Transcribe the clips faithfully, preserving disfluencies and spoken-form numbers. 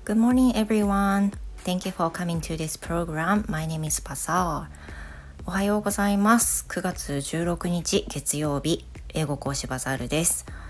Good morning, everyone. Thank you for coming to this program. My name is Pasal. おはようございます。くがつじゅうろくにち月曜日、英語講師バザールです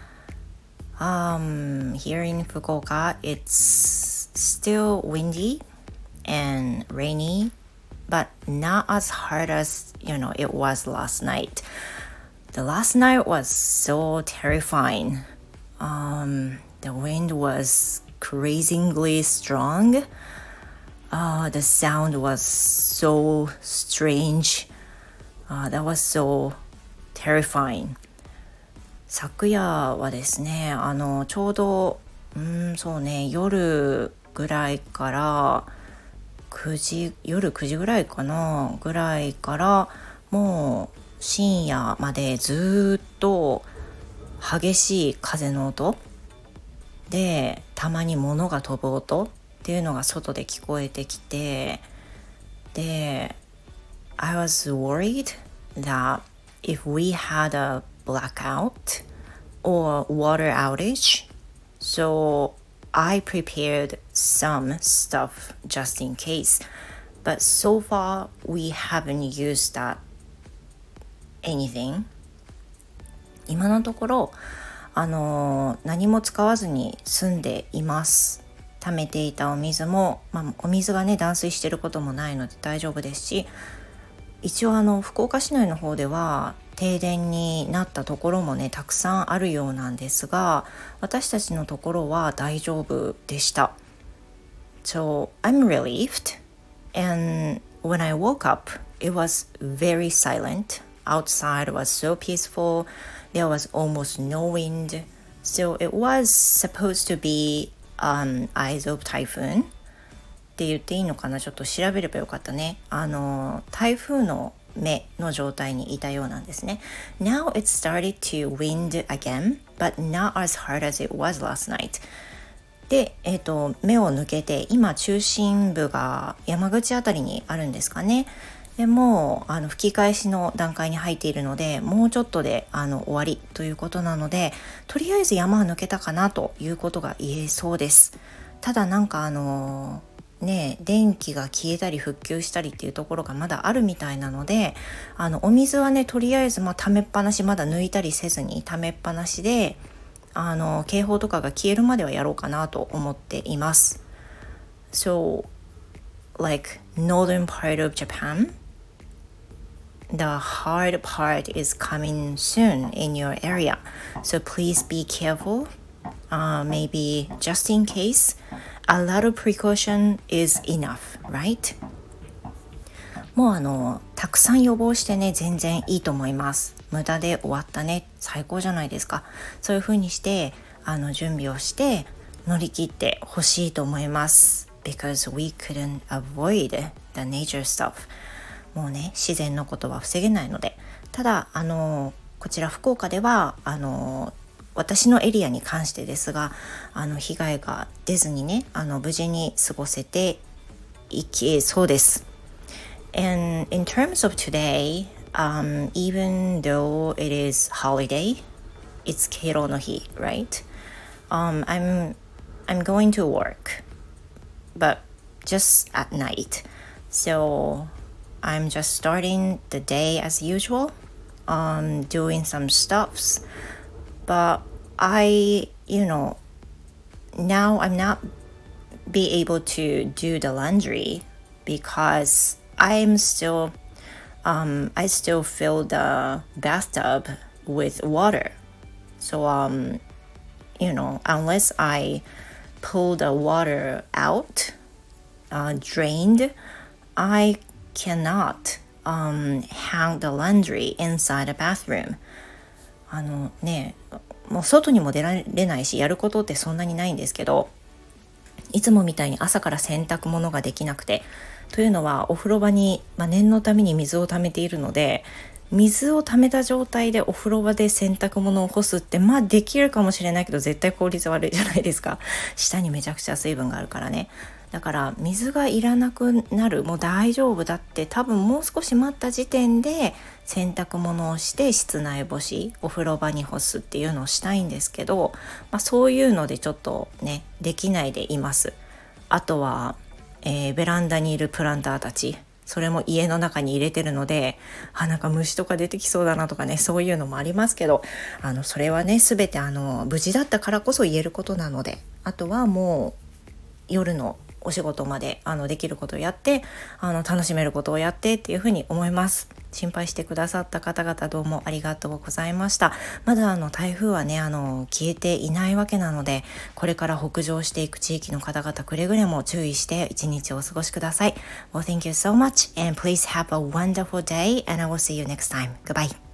。Um, here in Fukuoka, it's still windy and rainy, but not as hard as, you know, it was last night. The last night was so terrifying. Um, the wind was crazingly strong. Uh, the sound was so strange. Uh, that was so terrifying. 昨夜はですね、あのちょうどうんそうね夜ぐらいからくじ夜くじぐらいかなぐらいからもう深夜までずっと激しい風の音で、たまに物が飛ぶ音っていうのが外で聞こえてきて、で I was worried that if we had a blackout or water outage, so I prepared some stuff just in case, but so far we haven't used that anything. 今のところあの何も使わずに済んでいます。溜めていたお水も、まあ、お水がね断水していることもないので大丈夫ですし、一応あの福岡市内の方では停電になったところもねたくさんあるようなんですが、私たちのところは大丈夫でした。 So I'm relieved, and when I woke up it was very silent. Outside was so peaceful. There was almost no wind. So it was supposed to be an eyes of typhoonって言っていいのかな、ちょっと調べればよかったね。あの台風の目の状態にいたようなんですね。 Now it started to wind again, but not as hard as it was last night. で、えーと、目を抜けて今中心部が山口あたりにあるんですかね。でもうあの吹き返しの段階に入っているので、もうちょっとであの終わりということなので、とりあえず山は抜けたかなということが言えそうです。ただなんかあのね電気が消えたり復旧したりっていうところがまだあるみたいなので、あのお水はねとりあえずまあ溜めっぱなし、まだ抜いたりせずに溜めっぱなしで、あの警報とかが消えるまではやろうかなと思っています。 So like northern part of Japan,The hard part is coming soon in your area. So please be careful. Uh, maybe just in case, a lot of precaution is enough, right? もうあのたくさん予防してね全然いいと思います。無駄で終わったね最高じゃないですか。そういう風にしてあの準備をして乗り切ってほしいと思います。Because we couldn't avoid the nature stuff.もうね自然のことは防げないので、ただあのこちら福岡ではあの私のエリアに関してですが、あの被害が出ずにねあの無事に過ごせていきそうです。 And in terms of today, um, even though it is holiday, it's 敬老の日 right? Um, I'm, I'm going to work, but just at night. So I'm just starting the day as usual, um, doing some stuffs. But I, you know, now I'm not be able to do the laundry because I'm still, um, I still fill the bathtub with water. So, um, you know, unless I pull the water out, uh, drained, I cannot um, hang the laundry inside the bathroom. あのね、もう外にも出られないし、やることってそんなにないんですけど、いつもみたいに朝から洗濯物ができなくて、というのはお風呂場に、まあ、念のために水を溜めているので、水を溜めた状態でお風呂場で洗濯物を干すってまあできるかもしれないけど絶対効率悪いじゃないですか。下にめちゃくちゃ水分があるからね。だから水がいらなくなる、もう大丈夫だって、多分もう少し待った時点で洗濯物をして室内干し、お風呂場に干すっていうのをしたいんですけど、まあ、そういうのでちょっとねできないでいます。 あとは、えー、ベランダにいるプランターたち、それも家の中に入れてるので、あ、なんか虫とか出てきそうだなとかね、そういうのもありますけど、あのそれはね全てあの無事だったからこそ言えることなので、あとはもう夜のお仕事まであのできることをやって、あの楽しめることをやってっていうふうに思います。心配してくださった方々、どうもありがとうございました。まだあの台風はねあの消えていないわけなので、これから北上していく地域の方々、くれぐれも注意して一日をお過ごしください。Well, thank you so much and please have a wonderful day and I will see you next time. Goodbye.